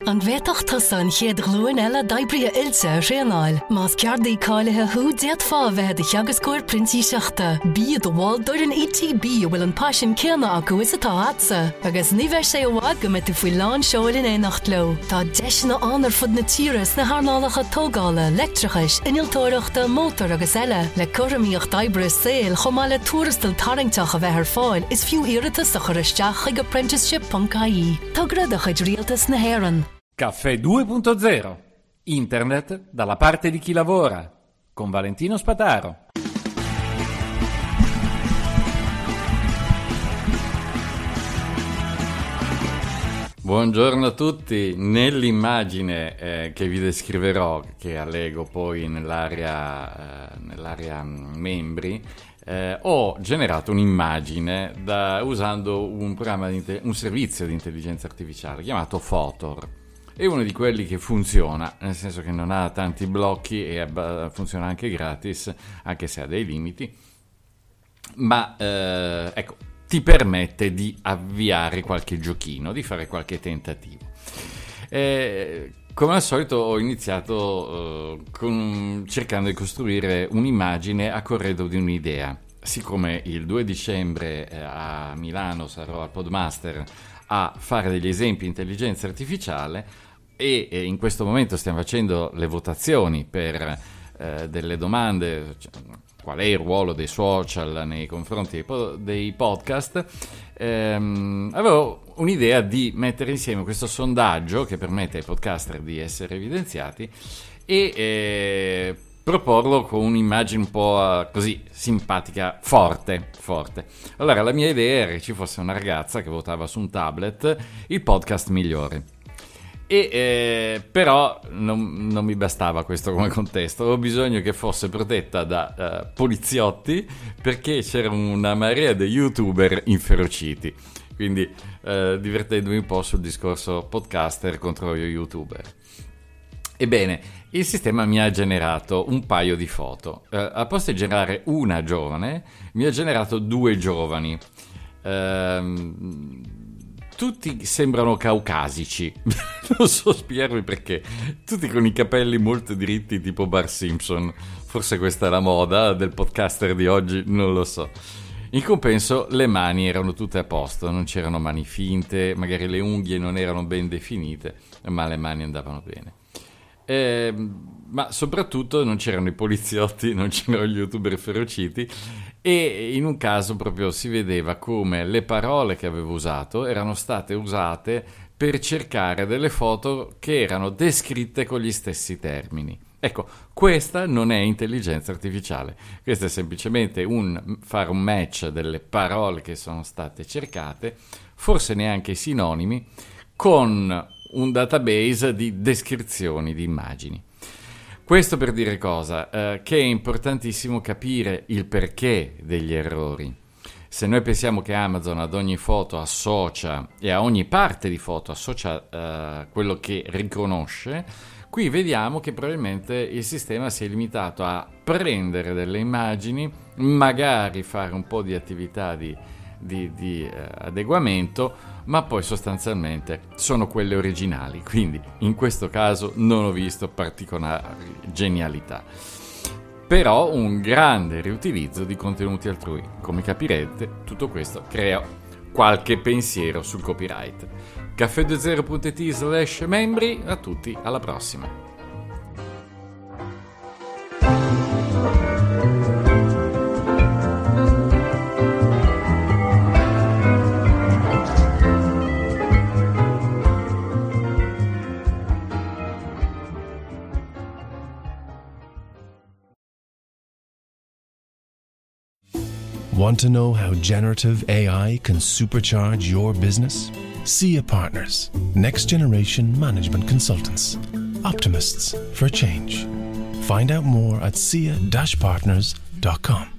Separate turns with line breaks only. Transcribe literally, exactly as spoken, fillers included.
An bhéach tusan chéad glúin eile d'oibriaithe ilse réanáil. Más ceardaí cáilethe thú déad fábheithe de cheagascóir printí seachta. Bí do bháil dúir an E T B bhfuil an passion céanna acu is atá atsa. Agus ní bheith sé bhád go mit faoi lán seoilin é nacht lo. Tá deisna anar fud na tíras na hánálacha tógála, leictrichais, iniltóireachta, mótor agus eile. Le cuirimíocht d'oibre saoil chomáile túrastal taringteach a bheith ar fáil is fiú iiritas a choristeach ag apprenticeship punto I E. Tá gradach id rialtas na héireann.
Caffè due punto zero. Internet dalla parte di chi lavora. Con Valentino Spataro. Buongiorno a tutti. Nell'immagine eh, che vi descriverò, che allego poi nell'area, eh, nell'area membri, eh, ho generato un'immagine da, usando un programma di un servizio di intelligenza artificiale chiamato Photor. È uno di quelli che funziona, nel senso che non ha tanti blocchi e abba- funziona anche gratis, anche se ha dei limiti, ma eh, ecco, ti permette di avviare qualche giochino, di fare qualche tentativo. Eh, come al solito ho iniziato eh, con, cercando di costruire un'immagine a corredo di un'idea. Siccome il due dicembre eh, a Milano sarò al Podmaster a fare degli esempi di intelligenza artificiale e, e in questo momento stiamo facendo le votazioni per eh, delle domande, cioè, qual è il ruolo dei social nei confronti dei, po- dei podcast, ehm, avevo un'idea di mettere insieme questo sondaggio che permette ai podcaster di essere evidenziati e eh, proporlo con un'immagine un po' così simpatica, forte, forte. Allora la mia idea era che ci fosse una ragazza che votava su un tablet il podcast migliore. E eh, però non, non mi bastava questo come contesto, avevo bisogno che fosse protetta da uh, poliziotti, perché c'era una marea di youtuber inferociti, quindi uh, divertendomi un po' sul discorso podcaster contro gli youtuber. Ebbene, il sistema mi ha generato un paio di foto. Uh, al posto di generare una giovane, mi ha generato due giovani. Uh, Tutti sembrano caucasici, non so spiegarvi perché, tutti con i capelli molto diritti tipo Bart Simpson, forse questa è la moda del podcaster di oggi, non lo so. In compenso le mani erano tutte a posto, non c'erano mani finte, magari le unghie non erano ben definite, ma le mani andavano bene. Eh, ma soprattutto non c'erano i poliziotti, non c'erano gli youtuber ferociti, e in un caso proprio si vedeva come le parole che avevo usato erano state usate per cercare delle foto che erano descritte con gli stessi termini. Ecco, questa non è intelligenza artificiale, questo è semplicemente un fare un match delle parole che sono state cercate, forse neanche sinonimi, con un database di descrizioni di immagini. Questo per dire cosa? Eh, che è importantissimo capire il perché degli errori. Se noi pensiamo che Amazon ad ogni foto associa, e a ogni parte di foto associa eh, quello che riconosce, qui vediamo che probabilmente il sistema si è limitato a prendere delle immagini, magari fare un po' di attività di, di, di eh, adeguamento, ma poi sostanzialmente sono quelle originali, quindi in questo caso non ho visto particolari genialità. Però un grande riutilizzo di contenuti altrui. Come capirete, tutto questo crea qualche pensiero sul copyright. caffè due zero punto it slash membri, a tutti, alla prossima.
Want to know how generative A I can supercharge your business? S I A Partners, next generation management consultants, optimists for change. Find out more at S I A dash partners dot com.